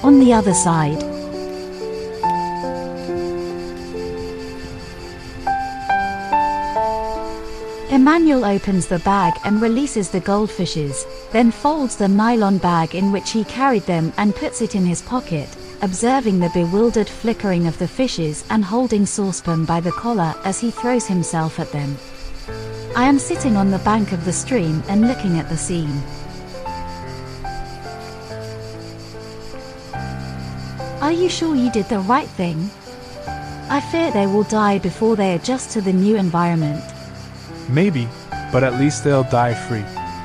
on the other side. Emmanuel opens the bag and releases the goldfishes, then folds the nylon bag in which he carried them and puts it in his pocket, observing the bewildered flickering of the fishes and holding Saucepan by the collar as he throws himself at them. I am sitting on the bank of the stream and looking at the scene. Are you sure you did the right thing? I fear they will die before they adjust to the new environment. Maybe, but at least they'll die free.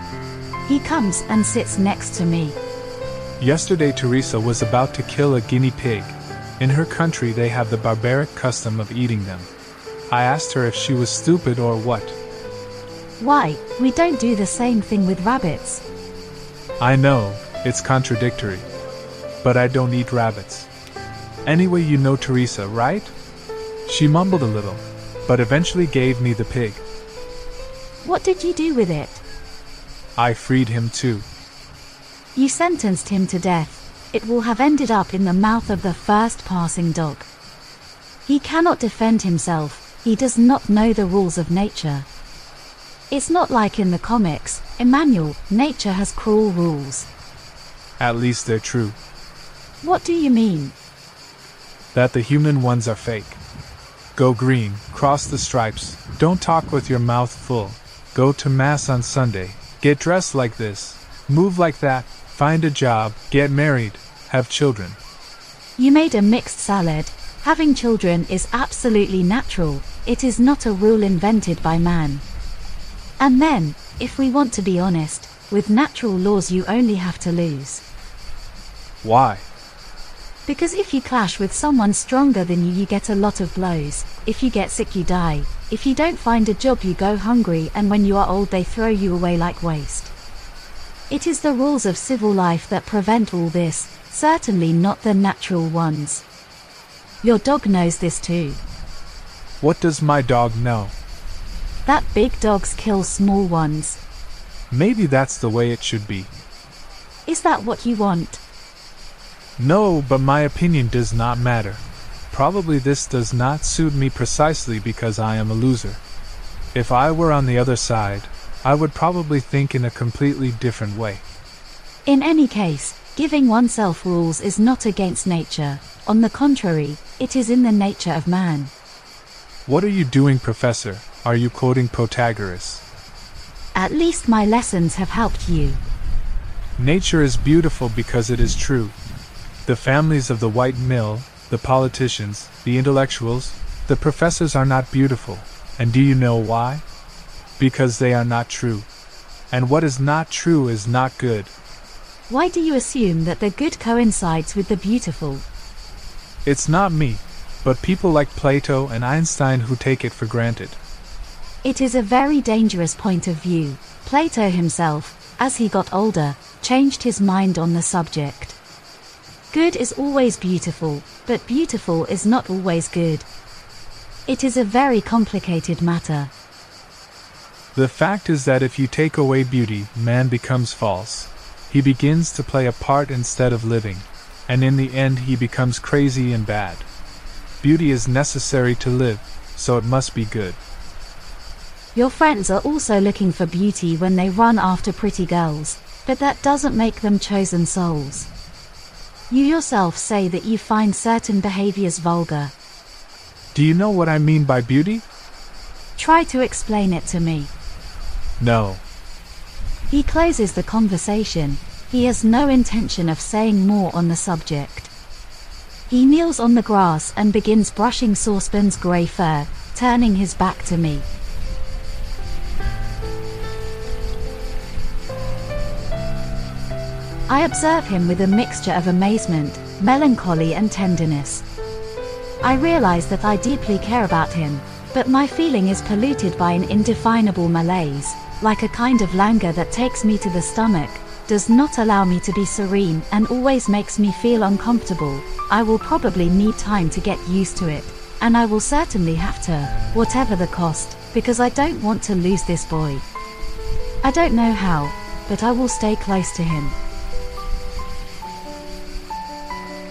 He comes and sits next to me. Yesterday Teresa was about to kill a guinea pig. In her country they have the barbaric custom of eating them. I asked her if she was stupid or what. Why, we don't do the same thing with rabbits. I know, it's contradictory. But I don't eat rabbits. Anyway, you know Teresa, right? She mumbled a little, but eventually gave me the pig. What did you do with it? I freed him too. You sentenced him to death. It will have ended up in the mouth of the first passing dog. He cannot defend himself. He does not know the rules of nature. It's not like in the comics, Emmanuel. Nature has cruel rules. At least they're true. What do you mean? That the human ones are fake. Go green, cross the stripes, don't talk with your mouth full. Go to mass on Sunday, get dressed like this, move like that, find a job, get married, have children. You made a mixed salad. Having children is absolutely natural. It is not a rule invented by man. And then, if we want to be honest, with natural laws you only have to lose. Why? Because if you clash with someone stronger than you, you get a lot of blows. If you get sick, you die. If you don't find a job, you go hungry, and when you are old they throw you away like waste. It is the rules of civil life that prevent all this, certainly not the natural ones. Your dog knows this too. What does my dog know? That big dogs kill small ones. Maybe that's the way it should be. Is that what you want? No, but my opinion does not matter. Probably this does not suit me precisely because I am a loser. If I were on the other side, I would probably think in a completely different way. In any case, giving oneself rules is not against nature. On the contrary, it is in the nature of man. What are you doing, Professor? Are you quoting Protagoras? At least my lessons have helped you. Nature is beautiful because it is true. The families of the white mill, the politicians, the intellectuals, the professors are not beautiful. And do you know why? Because they are not true. And what is not true is not good. Why do you assume that the good coincides with the beautiful? It's not me, but people like Plato and Einstein who take it for granted. It is a very dangerous point of view. Plato himself, as he got older, changed his mind on the subject. Good is always beautiful, but beautiful is not always good. It is a very complicated matter. The fact is that if you take away beauty, man becomes false. He begins to play a part instead of living, and in the end he becomes crazy and bad. Beauty is necessary to live, so it must be good. Your friends are also looking for beauty when they run after pretty girls, but that doesn't make them chosen souls. You yourself say that you find certain behaviors vulgar. Do you know what I mean by beauty? Try to explain it to me. No. He closes the conversation. He has no intention of saying more on the subject. He kneels on the grass and begins brushing Saucepan's grey fur, turning his back to me. I observe him with a mixture of amazement, melancholy and tenderness. I realize that I deeply care about him, but my feeling is polluted by an indefinable malaise, like a kind of languor that takes me to the stomach, does not allow me to be serene and always makes me feel uncomfortable. I will probably need time to get used to it, and I will certainly have to, whatever the cost, because I don't want to lose this boy. I don't know how, but I will stay close to him.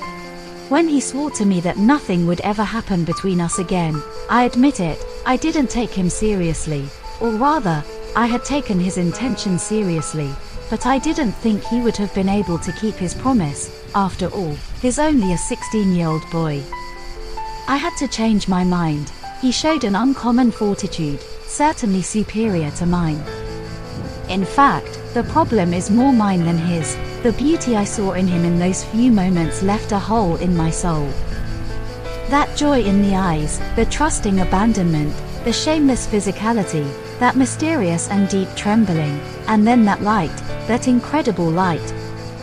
When he swore to me that nothing would ever happen between us again, I admit it, I didn't take him seriously. Or rather, I had taken his intention seriously, but I didn't think he would have been able to keep his promise. After all, he's only a 16-year-old boy. I had to change my mind. He showed an uncommon fortitude, certainly superior to mine. In fact, the problem is more mine than his. The beauty I saw in him in those few moments left a hole in my soul. That joy in the eyes, the trusting abandonment, the shameless physicality, that mysterious and deep trembling, and then that light, that incredible light.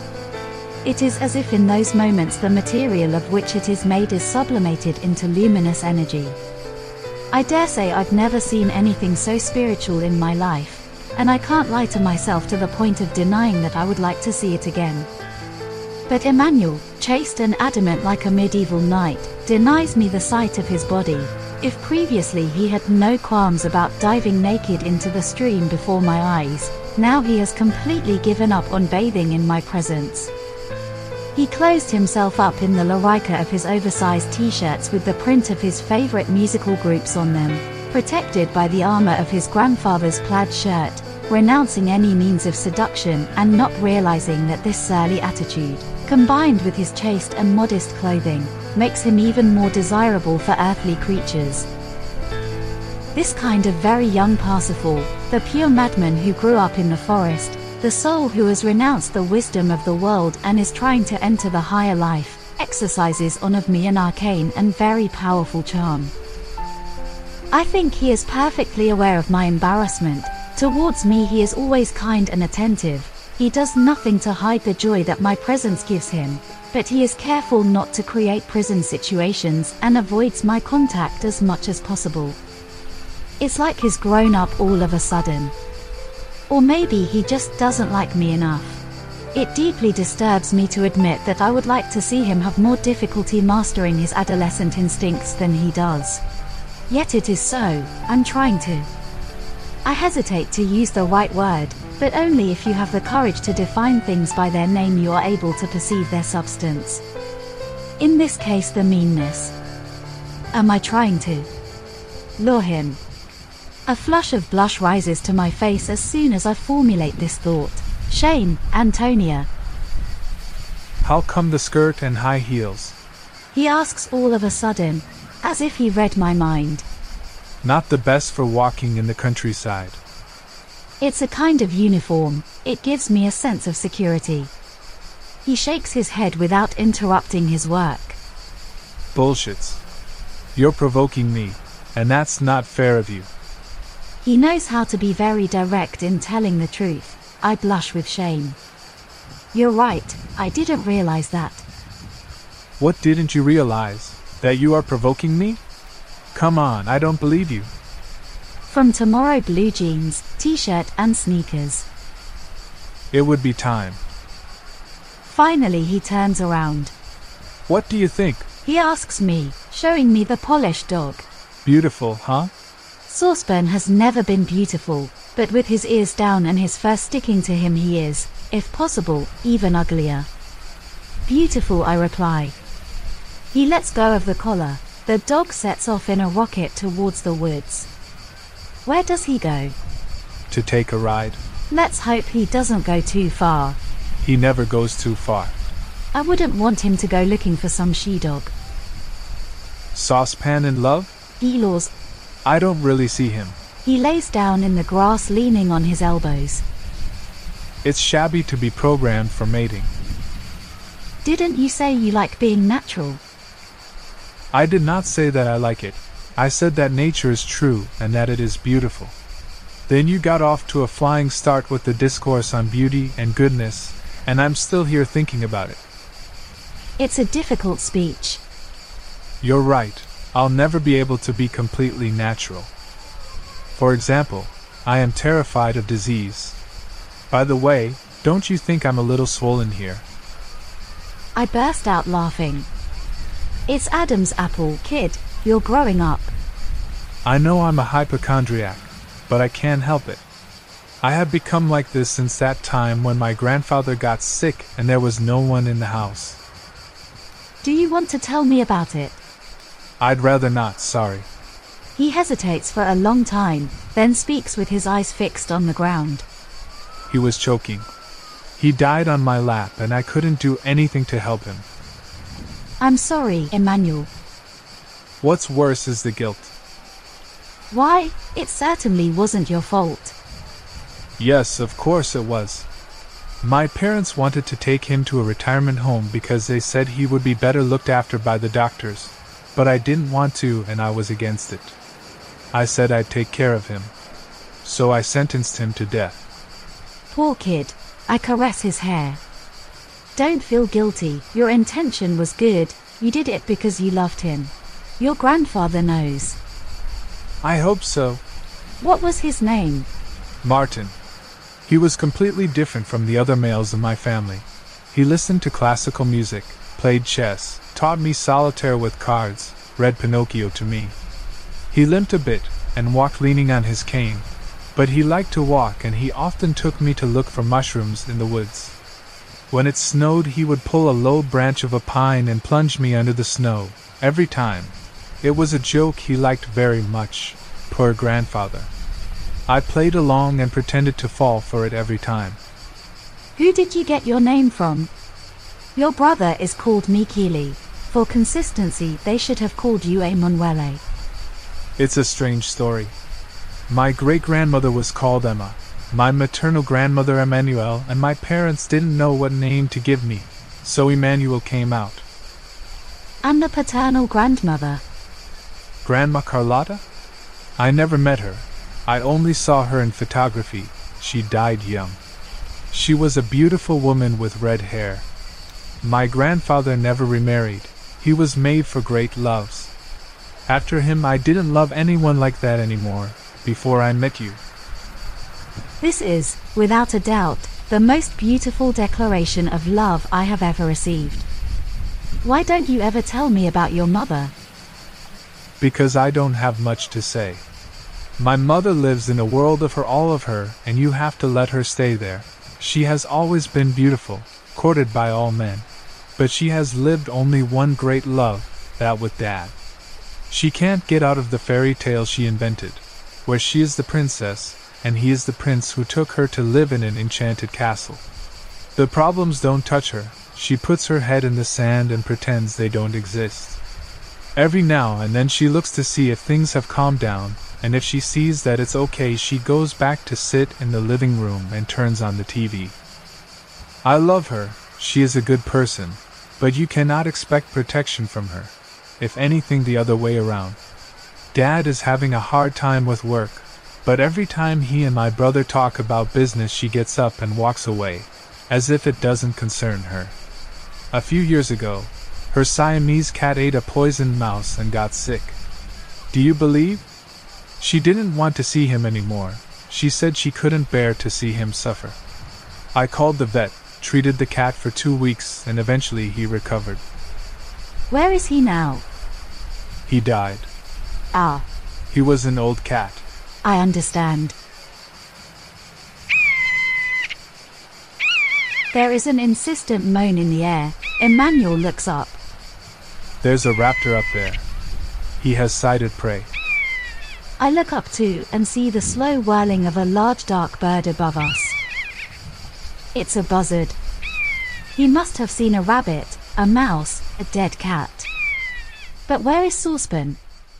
It is as if in those moments the material of which it is made is sublimated into luminous energy. I dare say I've never seen anything so spiritual in my life, and I can't lie to myself to the point of denying that I would like to see it again. But Emmanuel, chaste and adamant like a medieval knight, denies me the sight of his body. If previously he had no qualms about diving naked into the stream before my eyes, now he has completely given up on bathing in my presence. He clothed himself up in the larica of his oversized t-shirts with the print of his favorite musical groups on them, protected by the armor of his grandfather's plaid shirt, renouncing any means of seduction and not realizing that this surly attitude, combined with his chaste and modest clothing, makes him even more desirable for earthly creatures. This kind of very young Parsifal, the pure madman who grew up in the forest, the soul who has renounced the wisdom of the world and is trying to enter the higher life, exercises on of me an arcane and very powerful charm. I think he is perfectly aware of my embarrassment. Towards me he is always kind and attentive. He does nothing to hide the joy that my presence gives him, but he is careful not to create prison situations and avoids my contact as much as possible. It's like he's grown up all of a sudden. Or maybe he just doesn't like me enough. It deeply disturbs me to admit that I would like to see him have more difficulty mastering his adolescent instincts than he does. Yet it is so. I'm trying to. I hesitate to use the right word, but only if you have the courage to define things by their name you are able to perceive their substance. In this case, the meanness. Am I trying to lure him? A flush of blush rises to my face as soon as I formulate this thought. Shame, Antonia. How come the skirt and high heels? He asks all of a sudden, as if he read my mind. Not the best for walking in the countryside. It's a kind of uniform. It gives me a sense of security. He shakes his head without interrupting his work. Bullshits. You're provoking me, and that's not fair of you. He knows how to be very direct in telling the truth. I blush with shame. You're right, I didn't realize that. What didn't you realize? That you are provoking me? Come on, I don't believe you. From tomorrow, blue jeans, t-shirt and sneakers. It would be time. Finally he turns around. What do you think? He asks me, showing me the polished dog. Beautiful, huh? Sauceburn has never been beautiful, but with his ears down and his fur sticking to him he is, if possible, even uglier. Beautiful, I reply. He lets go of the collar. The dog sets off in a rocket towards the woods. Where does he go? To take a ride. Let's hope he doesn't go too far. He never goes too far. I wouldn't want him to go looking for some she-dog. Saucepan in love? Eeyores. I don't really see him. He lays down in the grass leaning on his elbows. It's shabby to be programmed for mating. Didn't you say you like being natural? I did not say that I like it. I said that nature is true and that it is beautiful. Then you got off to a flying start with the discourse on beauty and goodness, and I'm still here thinking about it. It's a difficult speech. You're right. I'll never be able to be completely natural. For example, I am terrified of disease. By the way, don't you think I'm a little swollen here? I burst out laughing. It's Adam's apple, kid. You're growing up. I know I'm a hypochondriac, but I can't help it. I have become like this since that time when my grandfather got sick and there was no one in the house. Do you want to tell me about it? I'd rather not, sorry. He hesitates for a long time, then speaks with his eyes fixed on the ground. He was choking. He died on my lap and I couldn't do anything to help him. I'm sorry, Emmanuel. What's worse is the guilt. Why? It certainly wasn't your fault. Yes, of course it was. My parents wanted to take him to a retirement home because they said he would be better looked after by the doctors, but I didn't want to and I was against it. I said I'd take care of him. So I sentenced him to death. Poor kid. I caress his hair. Don't feel guilty, your intention was good, you did it because you loved him. Your grandfather knows. I hope so. What was his name? Martin. He was completely different from the other males in my family. He listened to classical music, played chess, taught me solitaire with cards, read Pinocchio to me. He limped a bit, and walked leaning on his cane, but he liked to walk and he often took me to look for mushrooms in the woods. When it snowed he would pull a low branch of a pine and plunge me under the snow, every time. It was a joke he liked very much, poor grandfather. I played along and pretended to fall for it every time. Who did you get your name from? Your brother is called Michele. For consistency they should have called you Emanuele. It's a strange story. My great-grandmother was called Emma, my maternal grandmother Emmanuel, and my parents didn't know what name to give me, so Emmanuel came out. And the paternal grandmother? Grandma Carlotta? I never met her. I only saw her in photography. She died young. She was a beautiful woman with red hair. My grandfather never remarried. He was made for great loves. After him I didn't love anyone like that anymore, before I met you. This is, without a doubt, the most beautiful declaration of love I have ever received. Why don't you ever tell me about your mother? Because I don't have much to say. My mother lives in a world of her, and you have to let her stay there. She has always been beautiful, courted by all men. But she has lived only one great love, that with Dad. She can't get out of the fairy tale she invented, where she is the princess, and he is the prince who took her to live in an enchanted castle. The problems don't touch her. She puts her head in the sand and pretends they don't exist. Every now and then she looks to see if things have calmed down, and if she sees that it's okay she goes back to sit in the living room and turns on the TV. I love her, she is a good person, but you cannot expect protection from her. If anything, the other way around. Dad is having a hard time with work, but every time he and my brother talk about business she gets up and walks away, as if it doesn't concern her. A few years ago, her Siamese cat ate a poisoned mouse and got sick. Do you believe? She didn't want to see him anymore. She said she couldn't bear to see him suffer. I called the vet, treated the cat for 2 weeks, and eventually he recovered. Where is he now? He died. Ah. He was an old cat. I understand. There is an insistent moan in the air. Emmanuel looks up. There's a raptor up there. He has sighted prey. I look up too and see the slow whirling of a large dark bird above us. It's a buzzard. He must have seen a rabbit, a mouse, a dead cat. But where is Saucepan?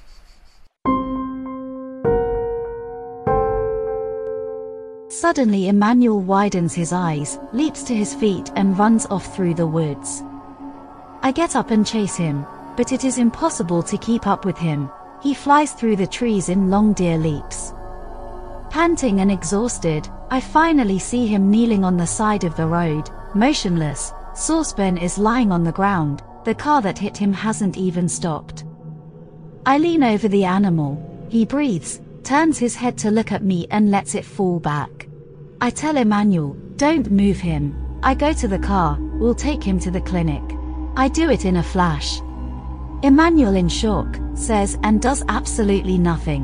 Suddenly Emmanuel widens his eyes, leaps to his feet and runs off through the woods. I get up and chase him, but it is impossible to keep up with him. He flies through the trees in long deer leaps. Panting and exhausted, I finally see him kneeling on the side of the road, motionless. Saucepan is lying on the ground. The car that hit him hasn't even stopped. I lean over the animal. He breathes, turns his head to look at me and lets it fall back. I tell Emmanuel, don't move him. I go to the car, we'll take him to the clinic. I do it in a flash. Emmanuel, in shock, says and does absolutely nothing.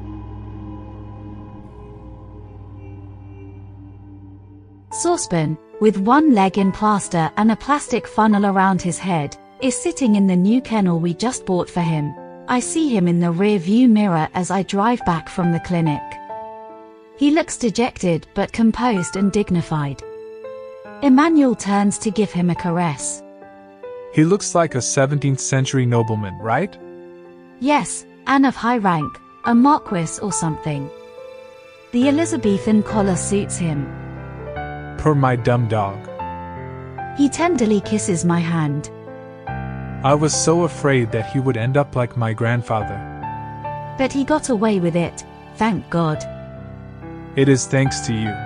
Saucepan, with one leg in plaster and a plastic funnel around his head, is sitting in the new kennel we just bought for him. I see him in the rear view mirror as I drive back from the clinic. He looks dejected but composed and dignified. Emmanuel turns to give him a caress. He looks like a 17th century nobleman, right? Yes, and of high rank, a marquis or something. The Elizabethan collar suits him. Poor my dumb dog. He tenderly kisses my hand. I was so afraid that he would end up like my grandfather. But he got away with it, thank God. It is thanks to you.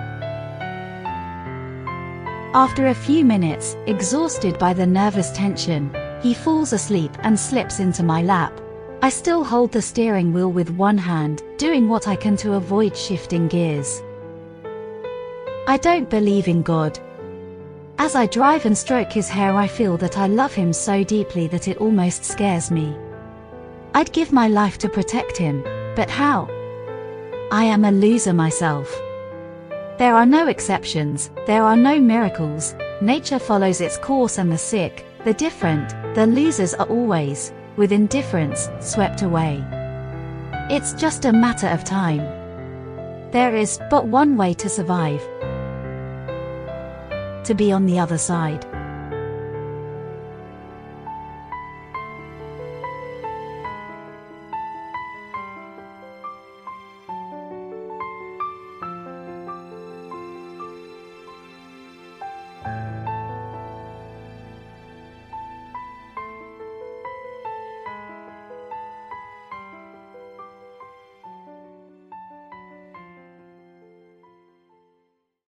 After a few minutes, exhausted by the nervous tension, he falls asleep and slips into my lap. I still hold the steering wheel with one hand, doing what I can to avoid shifting gears. I don't believe in God. As I drive and stroke his hair, I feel that I love him so deeply that it almost scares me. I'd give my life to protect him, but how? I am a loser myself. There are no exceptions, there are no miracles. Nature follows its course, and the sick, the different, the losers are always, with indifference, swept away. It's just a matter of time. There is but one way to survive: to be on the other side.